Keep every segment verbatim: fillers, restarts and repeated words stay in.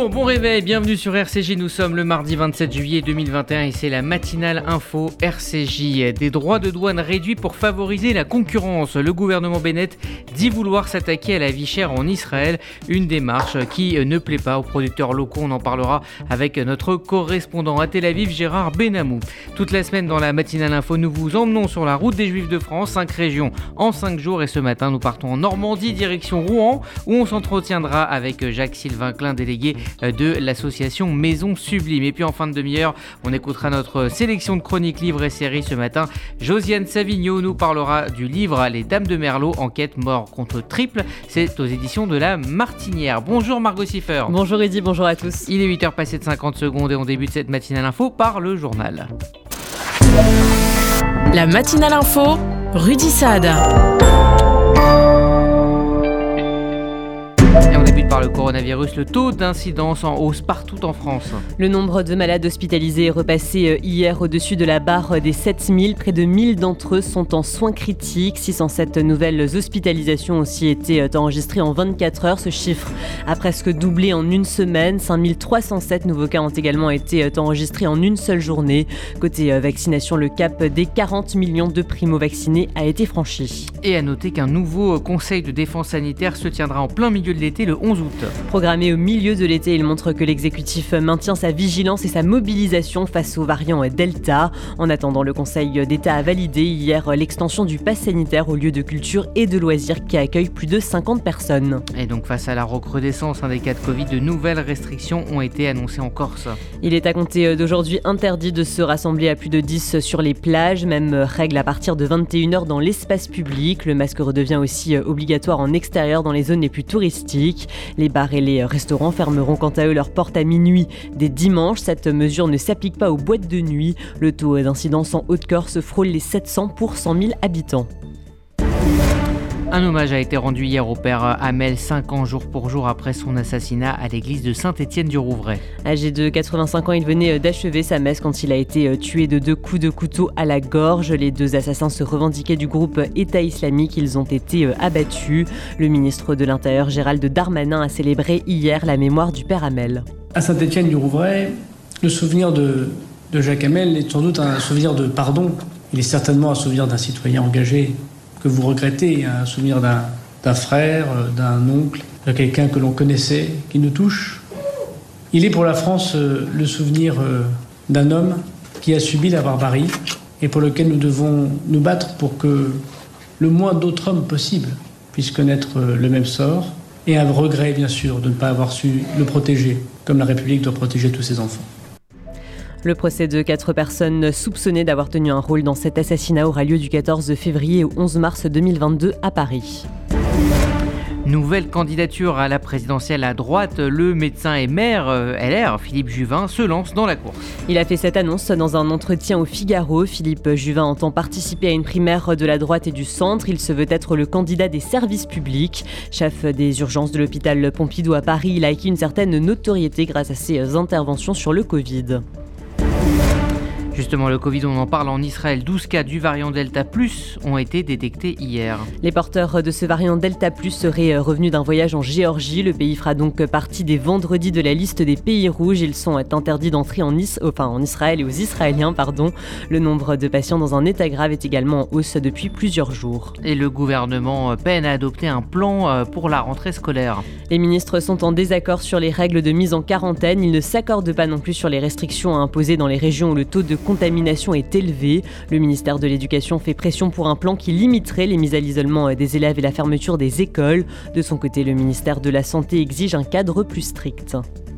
Bonjour, bon réveil, bienvenue sur R C J, nous sommes le mardi vingt-sept juillet deux mille vingt et un et c'est la matinale info R C J. Des droits de douane réduits pour favoriser la concurrence. Le gouvernement Bennett dit vouloir s'attaquer à la vie chère en Israël, une démarche qui ne plaît pas aux producteurs locaux. On en parlera avec notre correspondant à Tel Aviv, Gérard Benamou. Toute la semaine dans la matinale info, nous vous emmenons sur la route des Juifs de France, cinq régions en cinq jours et ce matin nous partons en Normandie, direction Rouen, où on s'entretiendra avec Jacques-Sylvain Klein, délégué de l'association Maison Sublime. Et puis en fin de demi-heure, on écoutera notre sélection de chroniques livres et séries ce matin. Josiane Savigno nous parlera du livre Les Dames de Merlot, enquête mort contre triple. C'est aux éditions de La Martinière. Bonjour Margot Siffer. Bonjour Eddy, bonjour à tous. Il est huit heures passées de cinquante secondes et on débute cette matinale info par le journal. La matinale info, Rudy Saad. Et on débute par le coronavirus, le taux d'incidence en hausse partout en France. Le nombre de malades hospitalisés est repassé hier au-dessus de la barre des sept mille. Près de mille d'entre eux sont en soins critiques. six cent sept nouvelles hospitalisations ont aussi été enregistrées en vingt-quatre heures. Ce chiffre a presque doublé en une semaine. cinq mille trois cent sept nouveaux cas ont également été enregistrés en une seule journée. Côté vaccination, le cap des quarante millions de primo-vaccinés a été franchi. Et à noter qu'un nouveau conseil de défense sanitaire se tiendra en plein milieu de l'été le onze août. Programmé au milieu de l'été, il montre que l'exécutif maintient sa vigilance et sa mobilisation face aux variants Delta. En attendant, le Conseil d'État a validé hier l'extension du pass sanitaire aux lieux de culture et de loisirs qui accueillent plus de cinquante personnes. Et donc face à la recrudescence des cas de Covid, de nouvelles restrictions ont été annoncées en Corse. Il est à compter d'aujourd'hui interdit de se rassembler à plus de dix sur les plages, même règle à partir de vingt et une heures dans l'espace public. Le masque redevient aussi obligatoire en extérieur dans les zones les plus touristiques. Les bars et les restaurants fermeront quant à eux leurs portes à minuit dès dimanche. Cette mesure ne s'applique pas aux boîtes de nuit. Le taux d'incidence en Haute-Corse frôle les sept cents pour cent mille habitants. Un hommage a été rendu hier au père Hamel, cinq ans jour pour jour après son assassinat à l'église de Saint-Étienne-du-Rouvray. Âgé de quatre-vingt-cinq ans, il venait d'achever sa messe quand il a été tué de deux coups de couteau à la gorge. Les deux assassins se revendiquaient du groupe État islamique. Ils ont été abattus. Le ministre de l'Intérieur, Gérald Darmanin, a célébré hier la mémoire du père Hamel. À Saint-Étienne-du-Rouvray, le souvenir de, de Jacques Hamel est sans doute un souvenir de pardon. Il est certainement un souvenir d'un citoyen engagé que vous regrettez, un souvenir d'un, d'un frère, d'un oncle, de quelqu'un que l'on connaissait, qui nous touche. Il est pour la France euh, le souvenir euh, d'un homme qui a subi la barbarie et pour lequel nous devons nous battre pour que le moins d'autres hommes possible puissent connaître euh, le même sort. Et un regret, bien sûr, de ne pas avoir su le protéger, comme la République doit protéger tous ses enfants. Le procès de quatre personnes soupçonnées d'avoir tenu un rôle dans cet assassinat aura lieu du quatorze février au onze mars deux mille vingt-deux à Paris. Nouvelle candidature à la présidentielle à droite, le médecin et maire L R, Philippe Juvin, se lance dans la course. Il a fait cette annonce dans un entretien au Figaro. Philippe Juvin entend participer à une primaire de la droite et du centre. Il se veut être le candidat des services publics. Chef des urgences de l'hôpital Pompidou à Paris, il a acquis une certaine notoriété grâce à ses interventions sur le Covid. Justement, le Covid, on en parle en Israël. douze cas du variant Delta plus ont été détectés hier. Les porteurs de ce variant Delta plus seraient revenus d'un voyage en Géorgie. Le pays fera donc partie des vendredis de la liste des pays rouges. Ils sont interdits d'entrer en, Is- enfin, en Israël et aux Israéliens. Pardon. Le nombre de patients dans un état grave est également en hausse depuis plusieurs jours. Et le gouvernement peine à adopter un plan pour la rentrée scolaire. Les ministres sont en désaccord sur les règles de mise en quarantaine. Ils ne s'accordent pas non plus sur les restrictions à imposer dans les régions où le taux de contamination est élevée. Le ministère de l'Éducation fait pression pour un plan qui limiterait les mises à l'isolement des élèves et la fermeture des écoles. De son côté, le ministère de la Santé exige un cadre plus strict.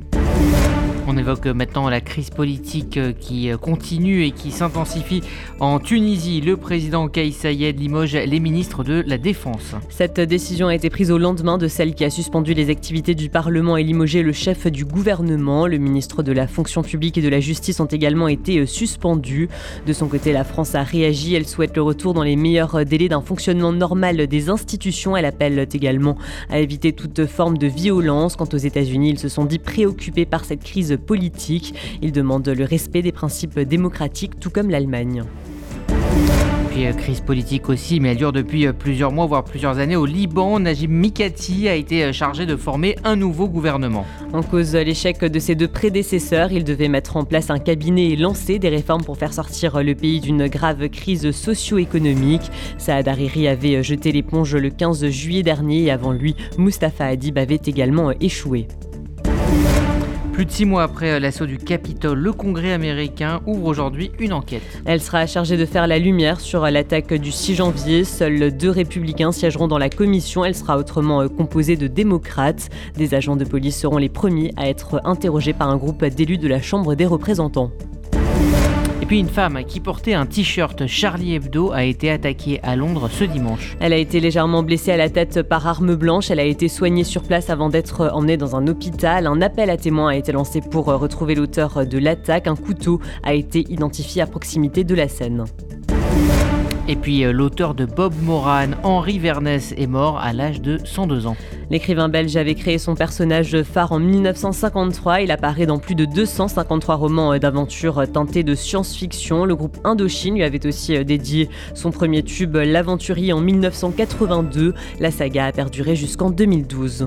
On évoque maintenant la crise politique qui continue et qui s'intensifie en Tunisie. Le président Kais Saied limoge les ministres de la Défense. Cette décision a été prise au lendemain de celle qui a suspendu les activités du Parlement et limogé le chef du gouvernement. Le ministre de la Fonction publique et de la Justice ont également été suspendus. De son côté, la France a réagi. Elle souhaite le retour dans les meilleurs délais d'un fonctionnement normal des institutions. Elle appelle également à éviter toute forme de violence. Quant aux États-Unis, ils se sont dit préoccupés par cette crise politique. Ils demandent le respect des principes démocratiques, tout comme l'Allemagne. puis euh, crise politique aussi, mais elle dure depuis euh, plusieurs mois, voire plusieurs années. Au Liban, Najib Mikati a été euh, chargé de former un nouveau gouvernement. En cause l'échec de ses deux prédécesseurs, il devait mettre en place un cabinet et lancer des réformes pour faire sortir le pays d'une grave crise socio-économique. Saad Hariri avait jeté l'éponge le quinze juillet dernier et avant lui, Mustafa Hadib avait également échoué. Plus de six mois après l'assaut du Capitole, le Congrès américain ouvre aujourd'hui une enquête. Elle sera chargée de faire la lumière sur l'attaque du six janvier. Seuls deux républicains siégeront dans la commission. Elle sera autrement composée de démocrates. Des agents de police seront les premiers à être interrogés par un groupe d'élus de la Chambre des représentants. Et puis une femme qui portait un t-shirt Charlie Hebdo a été attaquée à Londres ce dimanche. Elle a été légèrement blessée à la tête par arme blanche. Elle a été soignée sur place avant d'être emmenée dans un hôpital. Un appel à témoins a été lancé pour retrouver l'auteur de l'attaque. Un couteau a été identifié à proximité de la scène. Et puis euh, l'auteur de Bob Moran, Henri Vernès, est mort à l'âge de cent deux ans. L'écrivain belge avait créé son personnage phare en mille neuf cent cinquante-trois. Il apparaît dans plus de deux cent cinquante-trois romans d'aventure teintés de science-fiction. Le groupe Indochine lui avait aussi dédié son premier tube, L'Aventurier, en mille neuf cent quatre-vingt-deux. La saga a perduré jusqu'en deux mille douze.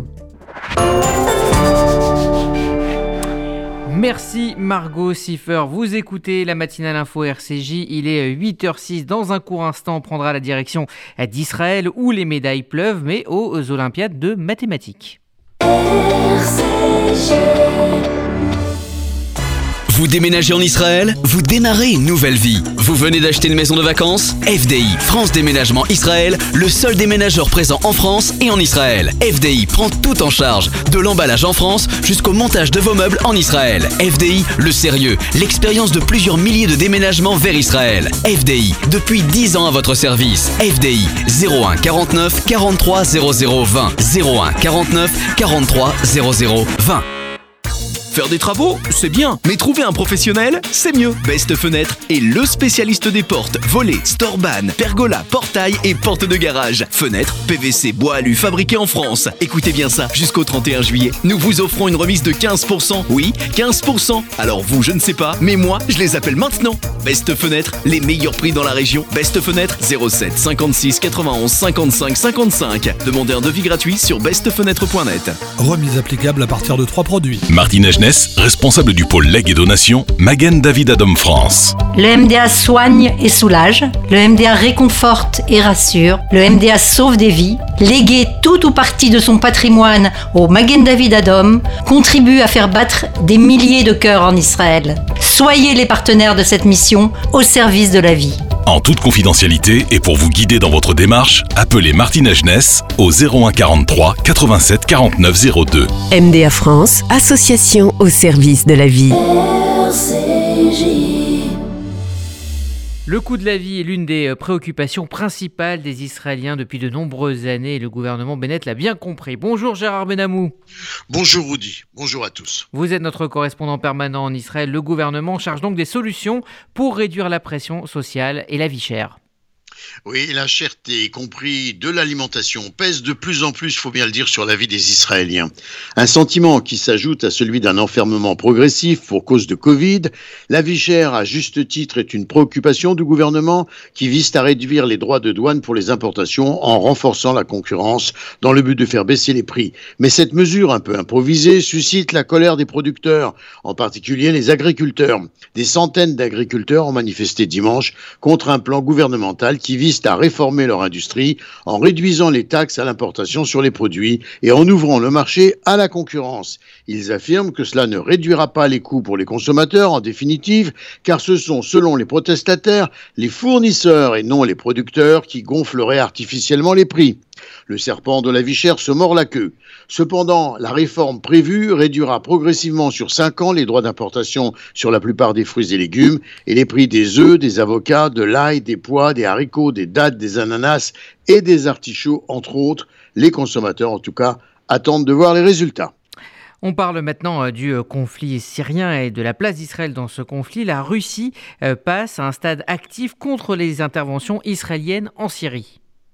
Merci Margot Siffer. Vous écoutez la matinale info R C J. Il est huit heures six. Dans un court instant, on prendra la direction d'Israël où les médailles pleuvent, mais aux Olympiades de mathématiques. R C J. Vous déménagez en Israël? Vous démarrez une nouvelle vie. Vous venez d'acheter une maison de vacances? F D I, France Déménagement Israël, le seul déménageur présent en France et en Israël. F D I prend tout en charge, de l'emballage en France jusqu'au montage de vos meubles en Israël. F D I, le sérieux, l'expérience de plusieurs milliers de déménagements vers Israël. F D I, depuis dix ans à votre service. F D I, zéro un quarante-neuf quarante-trois zéro zéro vingt. zéro un quarante-neuf quarante-trois zéro zéro vingt. Faire des travaux, c'est bien, mais trouver un professionnel, c'est mieux. Best Fenêtre est le spécialiste des portes, volets, storban, pergola, portail et portes de garage. Fenêtres, P V C, bois alu, fabriqués en France. Écoutez bien ça, jusqu'au trente et un juillet, nous vous offrons une remise de quinze pour cent. Oui, quinze pour cent. Alors vous, je ne sais pas, mais moi, je les appelle maintenant. Best Fenêtre, les meilleurs prix dans la région. Best Fenêtre, zéro sept cinquante-six quatre-vingt-onze cinquante-cinq cinquante-cinq. Demandez un devis gratuit sur best fenêtre point net. Remise applicable à partir de trois produits. Martine Agenès, responsable du pôle legs et donations, Magen David Adom France. Le M D A soigne et soulage, le M D A réconforte et rassure, le M D A sauve des vies. Léguer tout ou partie de son patrimoine au Magen David Adom contribue à faire battre des milliers de cœurs en Israël. Soyez les partenaires de cette mission au service de la vie. En toute confidentialité et pour vous guider dans votre démarche, appelez Martine Agenès au zéro un quarante-trois quatre-vingt-sept quarante-neuf zéro deux. M D A France, association au service de la vie. R C J. Le coût de la vie est l'une des préoccupations principales des Israéliens depuis de nombreuses années et le gouvernement Bennett l'a bien compris. Bonjour Gérard Benamou. Bonjour Rudy, bonjour à tous. Vous êtes notre correspondant permanent en Israël. Le gouvernement cherche donc des solutions pour réduire la pression sociale et la vie chère. Oui, la cherté, y compris de l'alimentation, pèse de plus en plus, il faut bien le dire, sur la vie des Israéliens. Un sentiment qui s'ajoute à celui d'un enfermement progressif pour cause de Covid. La vie chère, à juste titre, est une préoccupation du gouvernement qui vise à réduire les droits de douane pour les importations en renforçant la concurrence dans le but de faire baisser les prix. Mais cette mesure un peu improvisée suscite la colère des producteurs, en particulier les agriculteurs. Des centaines d'agriculteurs ont manifesté dimanche contre un plan gouvernemental qui vise à réformer leur industrie en réduisant les taxes à l'importation sur les produits et en ouvrant le marché à la concurrence. Ils affirment que cela ne réduira pas les coûts pour les consommateurs en définitive, car ce sont, selon les protestataires, les fournisseurs et non les producteurs qui gonfleraient artificiellement les prix. Le serpent de la vie chère se mord la queue. Cependant, la réforme prévue réduira progressivement sur cinq ans les droits d'importation sur la plupart des fruits et légumes et les prix des œufs, des avocats, de l'ail, des pois, des haricots, des dattes, des ananas et des artichauts, entre autres. Les consommateurs, en tout cas, attendent de voir les résultats. On parle maintenant du conflit syrien et de la place d'Israël dans ce conflit. La Russie passe à un stade actif contre les interventions israéliennes en Syrie.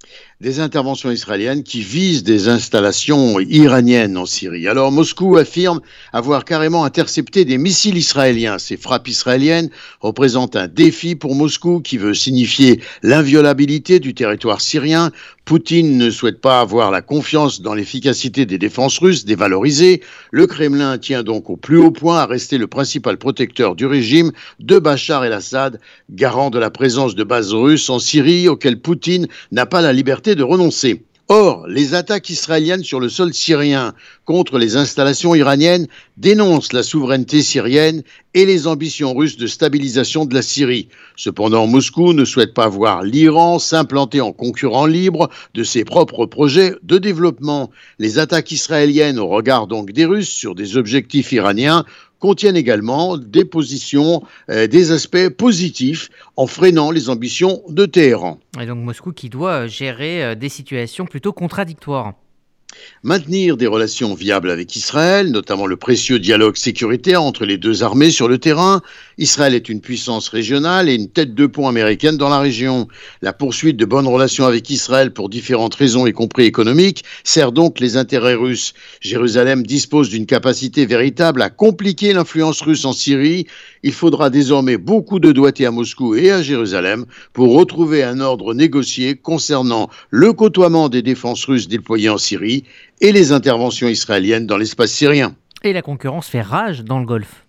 Des interventions israéliennes qui visent des installations iraniennes en Syrie. Alors Moscou affirme avoir carrément intercepté des missiles israéliens. Ces frappes israéliennes représentent un défi pour Moscou qui veut signifier l'inviolabilité du territoire syrien. Poutine ne souhaite pas avoir la confiance dans l'efficacité des défenses russes dévalorisées. Le Kremlin tient donc au plus haut point à rester le principal protecteur du régime de Bachar el-Assad, garant de la présence de bases russes en Syrie auxquelles Poutine n'a pas la liberté de renoncer. Or, les attaques israéliennes sur le sol syrien contre les installations iraniennes dénoncent la souveraineté syrienne et les ambitions russes de stabilisation de la Syrie. Cependant, Moscou ne souhaite pas voir l'Iran s'implanter en concurrent libre de ses propres projets de développement. Les attaques israéliennes au regard donc des Russes sur des objectifs iraniens contiennent également des positions, euh, des aspects positifs en freinant les ambitions de Téhéran. Et donc Moscou qui doit gérer euh, des situations plutôt contradictoires. Maintenir des relations viables avec Israël, notamment le précieux dialogue sécuritaire entre les deux armées sur le terrain. Israël est une puissance régionale et une tête de pont américaine dans la région. La poursuite de bonnes relations avec Israël pour différentes raisons, y compris économiques, sert donc les intérêts russes. Jérusalem dispose d'une capacité véritable à compliquer l'influence russe en Syrie. Il faudra désormais beaucoup de doigté à Moscou et à Jérusalem pour retrouver un ordre négocié concernant le côtoiement des défenses russes déployées en Syrie et les interventions israéliennes dans l'espace syrien. Et la concurrence fait rage dans le Golfe.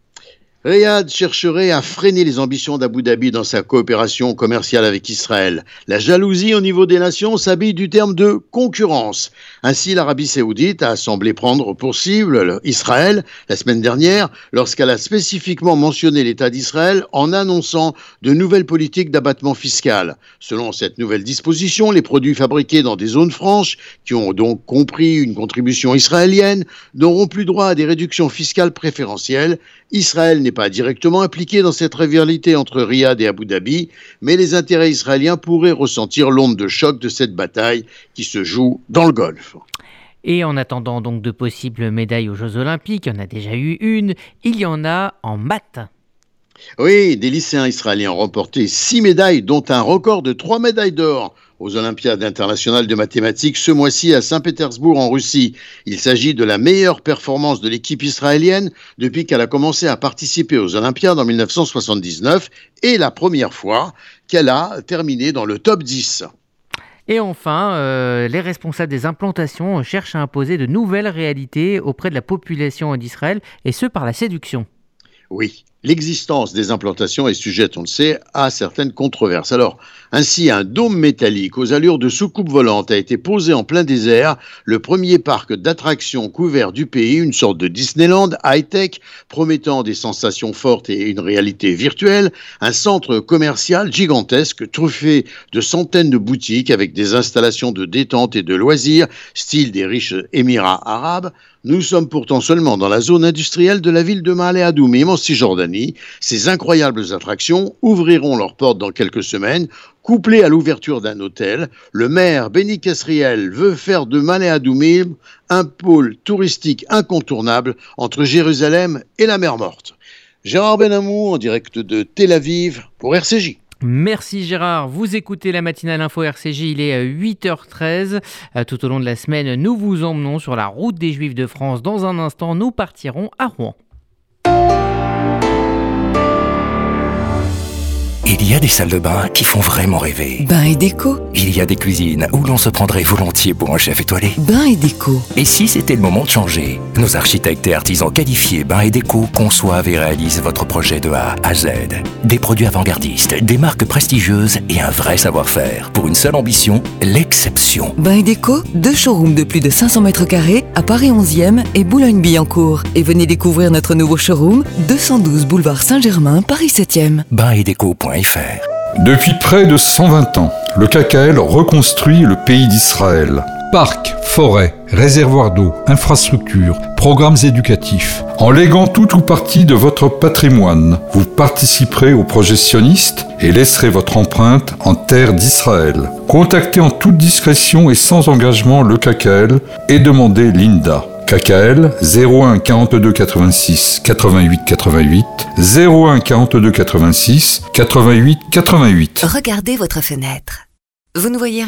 Riyad chercherait à freiner les ambitions d'Abu Dhabi dans sa coopération commerciale avec Israël. La jalousie au niveau des nations s'habille du terme de concurrence. Ainsi, l'Arabie saoudite a semblé prendre pour cible Israël la semaine dernière lorsqu'elle a spécifiquement mentionné l'État d'Israël en annonçant de nouvelles politiques d'abattement fiscal. Selon cette nouvelle disposition, les produits fabriqués dans des zones franches, qui ont donc compris une contribution israélienne, n'auront plus droit à des réductions fiscales préférentielles. Israël n'est pas directement impliqué dans cette rivalité entre Riyad et Abu Dhabi, mais les intérêts israéliens pourraient ressentir l'onde de choc de cette bataille qui se joue dans le Golfe. Et en attendant donc de possibles médailles aux Jeux Olympiques, il y en a déjà eu une, il y en a en maths. Oui, des lycéens israéliens ont remporté six médailles, dont un record de trois médailles d'or aux Olympiades internationales de mathématiques ce mois-ci à Saint-Pétersbourg en Russie. Il s'agit de la meilleure performance de l'équipe israélienne depuis qu'elle a commencé à participer aux Olympiades en dix-neuf cent soixante-dix-neuf et la première fois qu'elle a terminé dans le top dix. Et enfin, euh, les responsables des implantations cherchent à imposer de nouvelles réalités auprès de la population d'Israël, et ce par la séduction. Oui, l'existence des implantations est sujette, on le sait, à certaines controverses. Alors, ainsi, un dôme métallique aux allures de soucoupe volante a été posé en plein désert, le premier parc d'attractions couvert du pays, une sorte de Disneyland high-tech, promettant des sensations fortes et une réalité virtuelle, un centre commercial gigantesque, truffé de centaines de boutiques avec des installations de détente et de loisirs, style des riches Émirats arabes. Nous sommes pourtant seulement dans la zone industrielle de la ville de Ma'ale Adoumim en Cisjordanie. Ces incroyables attractions ouvriront leurs portes dans quelques semaines. Couplé à l'ouverture d'un hôtel, le maire Benny Kesriel veut faire de Ma'ale Adoumim un pôle touristique incontournable entre Jérusalem et la mer Morte. Gérard Benamou en direct de Tel Aviv pour R C J. Merci Gérard, vous écoutez la matinale info R C J, il est huit heures treize. Tout au long de la semaine, nous vous emmenons sur la route des Juifs de France. Dans un instant, nous partirons à Rouen. Il y a des salles de bain qui font vraiment rêver. Bain et déco. Il y a des cuisines où l'on se prendrait volontiers pour un chef étoilé. Bain et déco. Et si c'était le moment de changer? Nos architectes et artisans qualifiés Bain et déco conçoivent et réalisent votre projet de A à Z. Des produits avant-gardistes, des marques prestigieuses et un vrai savoir-faire. Pour une seule ambition, l'exception. Bain et déco, deux showrooms de plus de cinq cents mètres carrés à Paris onzième et Boulogne-Billancourt. Et venez découvrir notre nouveau showroom, deux cent douze boulevard Saint-Germain, Paris septième. bain et déco point f r. Depuis près de cent vingt ans, le K K L reconstruit le pays d'Israël. Parcs, forêts, réservoirs d'eau, infrastructures, programmes éducatifs. En léguant tout ou partie de votre patrimoine, vous participerez au projet sioniste et laisserez votre empreinte en terre d'Israël. Contactez en toute discrétion et sans engagement le K K L et demandez l'I N D A. K K L zéro un quarante-deux quatre-vingt-six quatre-vingt-huit quatre-vingt-huit zéro un quarante-deux quatre-vingt-six quatre-vingt-huit quatre-vingt-huit. Regardez votre fenêtre. Vous ne voyez rien ?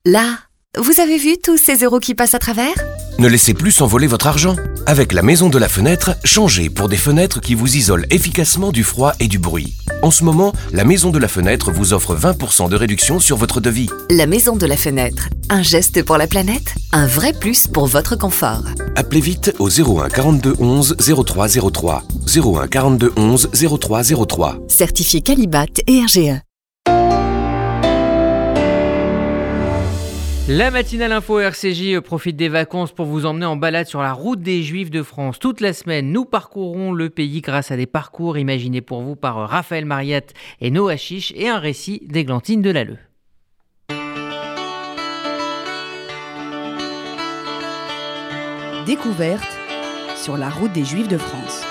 Là, vous avez vu tous ces euros qui passent à travers ? Ne laissez plus s'envoler votre argent. Avec la Maison de la Fenêtre, changez pour des fenêtres qui vous isolent efficacement du froid et du bruit. En ce moment, la Maison de la Fenêtre vous offre vingt pour cent de réduction sur votre devis. La Maison de la Fenêtre, un geste pour la planète, un vrai plus pour votre confort. Appelez vite au zéro un quarante-deux onze zéro trois zéro trois. zéro un quarante-deux onze zéro trois zéro trois. Certifié Qualibat et R G E. La matinale info R C J profite des vacances pour vous emmener en balade sur la route des Juifs de France. Toute la semaine, nous parcourons le pays grâce à des parcours imaginés pour vous par Raphaël Mariette et Noah Chiche et un récit d'Églantine Delalleux. Découverte sur la route des Juifs de France.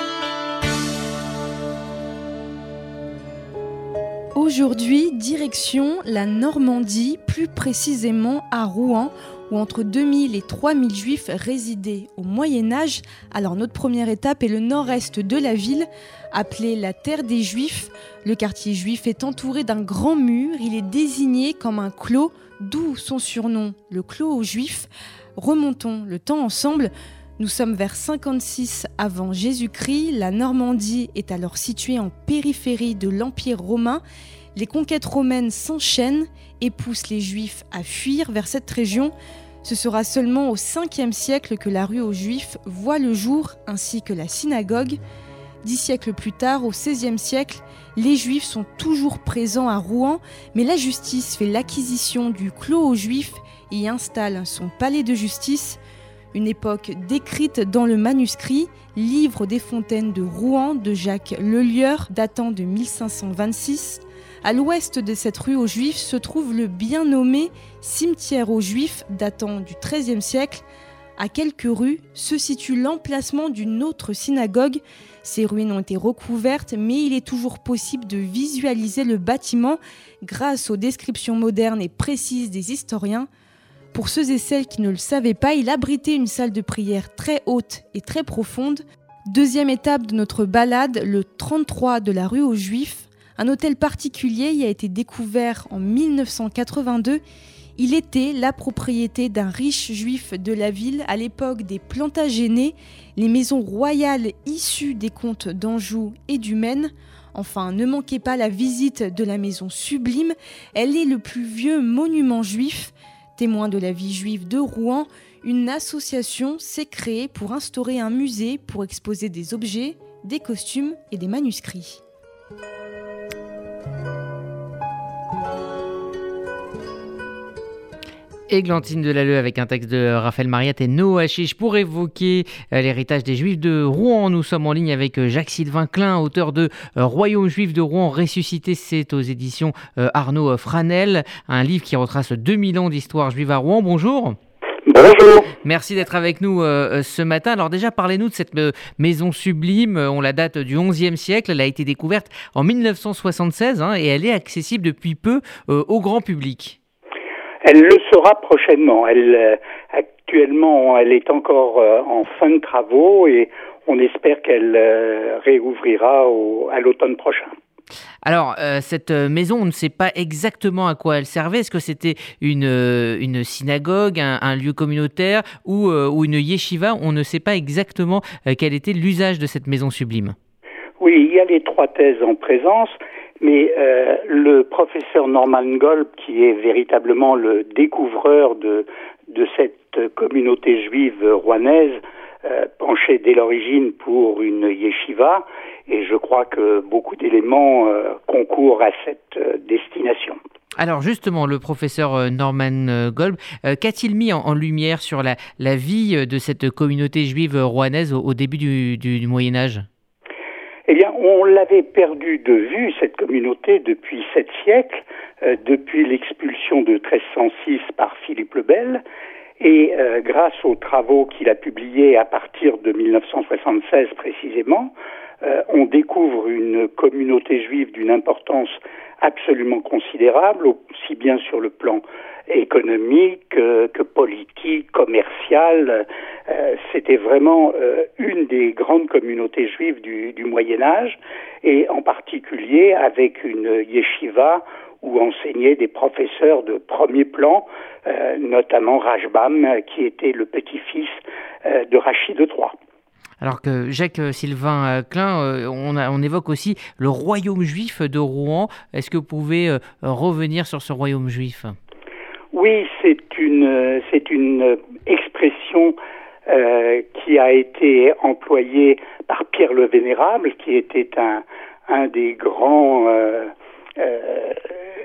Aujourd'hui, direction la Normandie, plus précisément à Rouen, où entre deux mille et trois mille Juifs résidaient au Moyen-Âge. Alors notre première étape est le nord-est de la ville, appelée la Terre des Juifs. Le quartier juif est entouré d'un grand mur, il est désigné comme un clos, d'où son surnom, le clos aux Juifs. Remontons le temps ensemble. Nous sommes vers cinquante-six avant Jésus-Christ. La Normandie est alors située en périphérie de l'Empire romain. Les conquêtes romaines s'enchaînent et poussent les Juifs à fuir vers cette région. Ce sera seulement au cinquième siècle que la rue aux Juifs voit le jour, ainsi que la synagogue. Dix siècles plus tard, au seizième siècle, les Juifs sont toujours présents à Rouen, mais la justice fait l'acquisition du clos aux Juifs et y installe son palais de justice. Une époque décrite dans le manuscrit Livre des fontaines de Rouen de Jacques Lelieur, datant de mille cinq cent vingt-six. À l'ouest de cette rue aux Juifs se trouve le bien nommé cimetière aux Juifs, datant du treizième siècle. À quelques rues se situe l'emplacement d'une autre synagogue. Ces ruines ont été recouvertes, mais il est toujours possible de visualiser le bâtiment grâce aux descriptions modernes et précises des historiens. Pour ceux et celles qui ne le savaient pas, il abritait une salle de prière très haute et très profonde. Deuxième étape de notre balade, le trente-trois de la rue aux Juifs. Un hôtel particulier y a été découvert en mille neuf cent quatre-vingt-deux. Il était la propriété d'un riche juif de la ville à l'époque des Plantagenets, les maisons royales issues des comtes d'Anjou et du Maine. Enfin, ne manquez pas la visite de la maison Sublime. Elle est le plus vieux monument juif. Témoin de la vie juive de Rouen, une association s'est créée pour instaurer un musée pour exposer des objets, des costumes et des manuscrits. Églantine Delalleux avec un texte de Raphaël Mariette et Noah Chiche pour évoquer l'héritage des Juifs de Rouen. Nous sommes en ligne avec Jacques-Sylvain Klein, auteur de Royaume juif de Rouen ressuscité. C'est aux éditions Arnaud Franel, un livre qui retrace deux mille ans d'histoire juive à Rouen. Bonjour. Bonjour. Merci d'être avec nous euh, ce matin. Alors déjà, parlez-nous de cette euh, maison sublime. On la date du onzième siècle. Elle a été découverte en mille neuf cent soixante-seize hein, et elle est accessible depuis peu euh, au grand public. Elle le sera prochainement. Elle, euh, actuellement, elle est encore euh, en fin de travaux et on espère qu'elle euh, réouvrira au, à l'automne prochain. Alors, euh, cette maison, on ne sait pas exactement à quoi elle servait. Est-ce que c'était une, euh, une synagogue, un, un lieu communautaire ou, euh, ou une yeshiva? On ne sait pas exactement euh, quel était l'usage de cette maison sublime. Oui, il y a les trois thèses en présence. Mais euh, le professeur Norman Golb, qui est véritablement le découvreur de, de cette communauté juive rouennaise, euh, penchait dès l'origine pour une yeshiva, et je crois que beaucoup d'éléments euh, concourent à cette euh, destination. Alors justement, le professeur Norman Golb, euh, qu'a-t-il mis en, en lumière sur la, la vie de cette communauté juive rouennaise au, au début du, du, du Moyen-Âge ? Eh bien, on l'avait perdu de vue, cette communauté, depuis sept siècles, euh, depuis l'expulsion de treize cent six par Philippe le Bel, et euh, grâce aux travaux qu'il a publiés à partir de mille neuf cent soixante-seize précisément, euh, on découvre une communauté juive d'une importance absolument considérable, aussi bien sur le plan économique euh, que politique, commercial. Euh, c'était vraiment euh, une des grandes communautés juives du, du Moyen-Âge, et en particulier avec une yeshiva où enseignaient des professeurs de premier plan, euh, notamment Rajbam, qui était le petit-fils euh, de Rachid de Troyes. Alors que Jacques-Sylvain Klein, on, a, on évoque aussi le royaume juif de Rouen. Est-ce que vous pouvez euh, revenir sur ce royaume juif ? Oui, c'est une, c'est une expression euh, qui a été employée par Pierre le Vénérable, qui était un, un des grands... Euh, euh,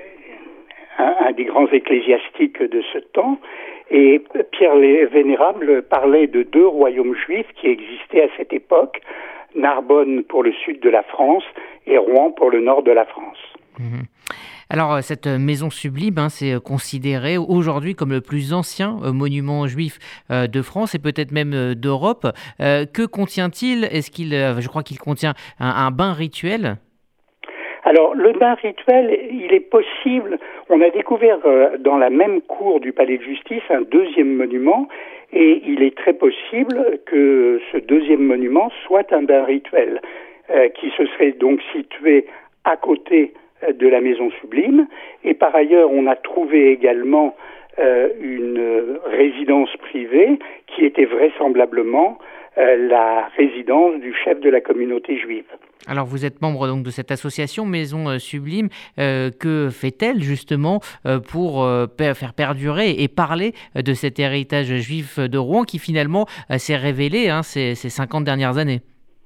un, un des grands ecclésiastiques de ce temps. Et Pierre le Vénérable parlait de deux royaumes juifs qui existaient à cette époque, Narbonne pour le sud de la France et Rouen pour le nord de la France. Mmh. Alors, cette maison sublime, hein, c'est considéré aujourd'hui comme le plus ancien euh, monument juif euh, de France et peut-être même euh, d'Europe. Euh, que contient-il ? Est-ce qu'il, euh, je crois qu'il contient un, un bain rituel ? Alors, le bain rituel, il est possible. On a découvert euh, dans la même cour du Palais de Justice un deuxième monument et il est très possible que ce deuxième monument soit un bain rituel euh, qui se serait donc situé à côté de la maison sublime. Et par ailleurs, on a trouvé également euh, une résidence privée qui était vraisemblablement euh, la résidence du chef de la communauté juive. Alors vous êtes membre donc de cette association Maison Sublime. Euh, que fait-elle justement euh, pour euh, faire perdurer et parler de cet héritage juif de Rouen qui finalement euh, s'est révélé hein, ces, ces cinquante dernières années ?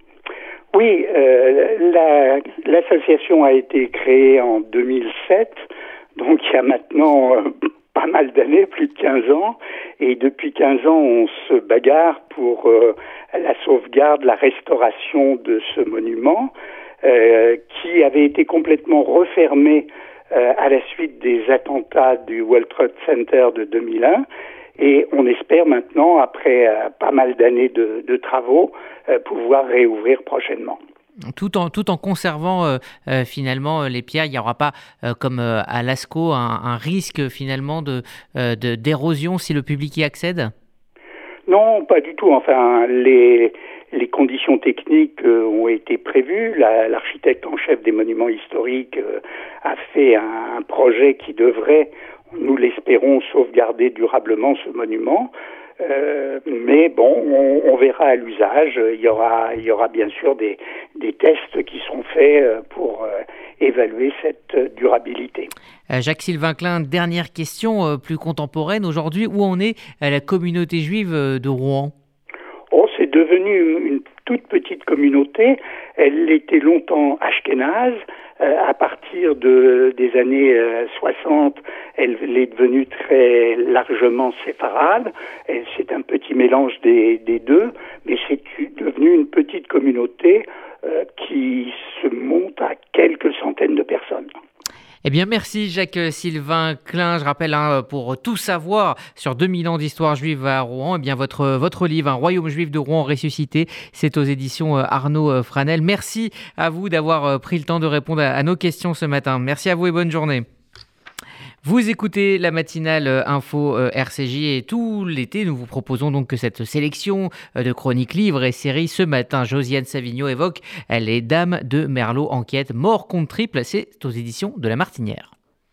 Oui, euh, la, l'association a été créée en deux mille sept, donc il y a maintenant euh, pas mal d'années, plus de quinze ans, et depuis quinze ans on se bagarre pour euh, la sauvegarde, la restauration de ce monument euh, qui avait été complètement refermé euh, à la suite des attentats du World Trade Center de deux mille un. Et on espère maintenant, après euh, pas mal d'années de, de travaux, euh, pouvoir réouvrir prochainement. Tout en, tout en conservant euh, euh, finalement les pierres, il n'y aura pas, euh, comme euh, à Lascaux, un, un risque finalement de, euh, de, d'érosion si le public y accède ? Non, pas du tout. Enfin, les, les conditions techniques euh, ont été prévues. La, l'architecte en chef des monuments historiques euh, a fait un, un projet qui devrait, nous l'espérons, sauvegarder durablement ce monument. Euh, mais bon, on, on verra à l'usage. Il y aura, il y aura bien sûr des, des tests qui seront faits pour euh, évaluer cette durabilité. Euh, Jacques-Sylvain Klein, dernière question euh, plus contemporaine. Aujourd'hui, où en est euh, la communauté juive de Rouen ? Oh, c'est devenu une, une toute petite communauté. Elle était longtemps ashkénaze. Euh, à partir de, des années euh, soixante, elle, elle est devenue très largement séfarade. Elle, c'est un petit mélange des, des deux, mais c'est devenu une petite communauté euh, qui se monte à quelques centaines de personnes. Eh bien, merci Jacques-Sylvain Klein. Je rappelle, hein, pour tout savoir sur deux mille ans d'histoire juive à Rouen, eh bien, votre, votre livre, Un royaume juif de Rouen ressuscité, c'est aux éditions Arnaud Franel. Merci à vous d'avoir pris le temps de répondre à, à nos questions ce matin. Merci à vous et bonne journée. Vous écoutez la matinale info R C J et tout l'été, nous vous proposons donc cette sélection de chroniques, livres et séries. Ce matin, Josiane Savigno évoque Les Dames de Merlot, enquête, mort contre triple, c'est aux éditions de La Martinière.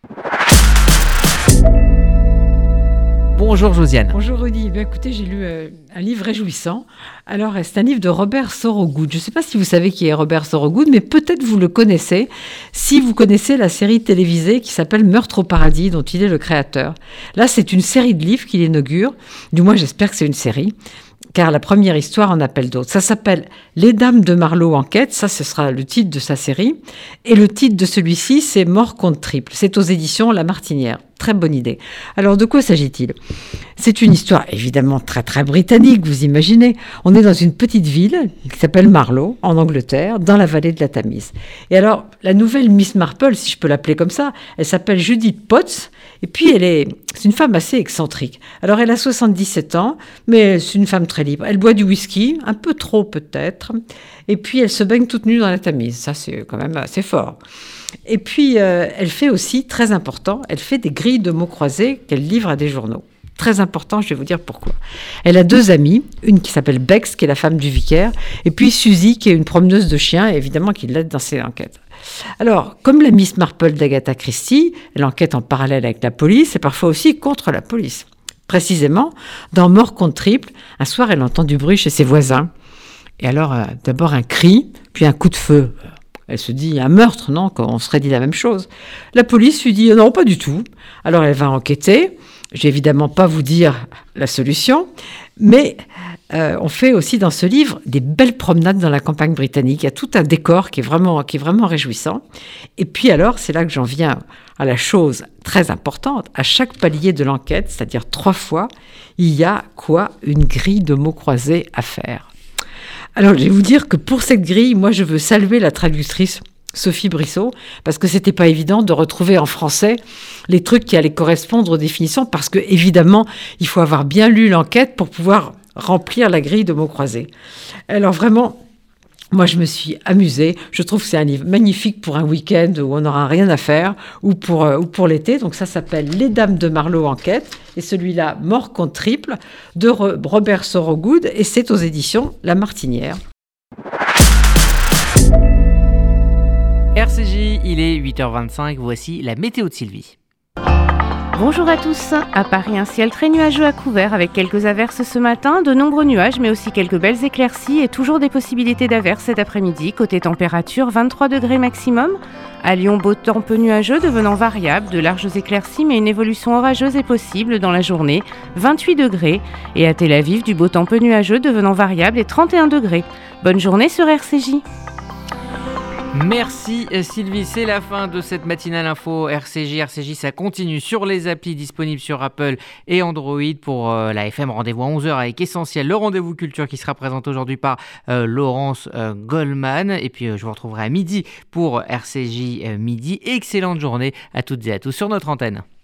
Bonjour Josiane. Bonjour Rudy. Bien, écoutez, j'ai lu euh, un livre réjouissant. Alors, c'est un livre de Robert Sorogood. Je ne sais pas si vous savez qui est Robert Sorogood, mais peut-être vous le connaissez si vous connaissez la série télévisée qui s'appelle Meurtre au paradis, dont il est le créateur. Là, c'est une série de livres qu'il inaugure. Du moins, j'espère que c'est une série, car la première histoire en appelle d'autres. Ça s'appelle Les Dames de Marlowe enquête, ça ce sera le titre de sa série, et le titre de celui-ci c'est Mort contre triple, c'est aux éditions La Martinière. Très bonne idée. Alors de quoi s'agit-il ? C'est une histoire évidemment très très britannique, vous imaginez. On est dans une petite ville qui s'appelle Marlowe, en Angleterre, dans la vallée de la Tamise. Et alors la nouvelle Miss Marple, si je peux l'appeler comme ça, elle s'appelle Judith Potts, et puis elle est, c'est une femme assez excentrique. Alors elle a soixante-dix-sept ans, mais c'est une femme très libre. Elle boit du whisky, un peu trop peut-être, et puis elle se baigne toute nue dans la Tamise. Ça c'est quand même assez fort. Et puis, euh, elle fait aussi, très important, elle fait des grilles de mots croisés qu'elle livre à des journaux. très important, je vais vous dire pourquoi. Elle a deux amies, une qui s'appelle Bex, qui est la femme du vicaire, et puis Suzy, qui est une promeneuse de chiens, et évidemment qui l'aide dans ses enquêtes. Alors, comme la Miss Marple d'Agatha Christie, elle enquête en parallèle avec la police, et parfois aussi contre la police. Précisément, dans Mort contre triple, un soir, elle entend du bruit chez ses voisins. Et alors, euh, d'abord un cri, puis un coup de feu. Elle se dit, un meurtre, non? On serait dit la même chose. La police lui dit, non, pas du tout. Alors, elle va enquêter. Je vais évidemment pas vous dire la solution, mais euh, on fait aussi dans ce livre des belles promenades dans la campagne britannique. Il y a tout un décor qui est vraiment, qui est vraiment réjouissant. Et puis alors, c'est là que j'en viens à la chose très importante. À chaque palier de l'enquête, c'est-à-dire trois fois, il y a quoi? Une grille de mots croisés à faire. Alors, je vais vous dire que pour cette grille, moi, je veux saluer la traductrice Sophie Brissot, parce que c'était pas évident de retrouver en français les trucs qui allaient correspondre aux définitions, parce que évidemment, il faut avoir bien lu l'enquête pour pouvoir remplir la grille de mots croisés. Alors vraiment, moi je me suis amusée. Je trouve que c'est un livre magnifique pour un week-end où on n'aura rien à faire, ou pour, euh, ou pour l'été. Donc ça s'appelle Les Dames de Marlowe Enquête, et celui-là, Mort contre triple, de Robert Sorogood, et c'est aux éditions La Martinière. R C J, il est huit heures vingt-cinq, voici la météo de Sylvie. Bonjour à tous. À Paris, un ciel très nuageux à couvert avec quelques averses ce matin, de nombreux nuages mais aussi quelques belles éclaircies et toujours des possibilités d'averses cet après-midi. Côté température, vingt-trois degrés maximum. À Lyon, beau temps peu nuageux devenant variable, de larges éclaircies mais une évolution orageuse est possible dans la journée, vingt-huit degrés. Et à Tel Aviv, du beau temps peu nuageux devenant variable et trente et un degrés. Bonne journée sur R C J. Merci Sylvie, c'est la fin de cette matinale info R C J. R C J, ça continue sur les applis disponibles sur Apple et Android. Pour euh, la F M, rendez-vous à onze heures avec Essentiel, le rendez-vous culture qui sera présenté aujourd'hui par euh, Laurence euh, Goldman. Et puis euh, je vous retrouverai à midi pour R C J euh, midi. Excellente journée à toutes et à tous sur notre antenne.